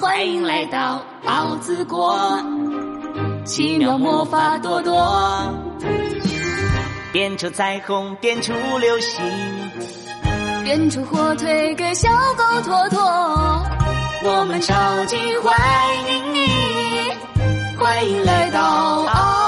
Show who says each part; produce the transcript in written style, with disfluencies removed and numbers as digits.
Speaker 1: 欢迎来到奥子国，奇妙魔法多多，变出彩虹，变出流星，
Speaker 2: 变出火腿给小狗坨坨。
Speaker 1: 我们超级欢迎你，欢迎来到奥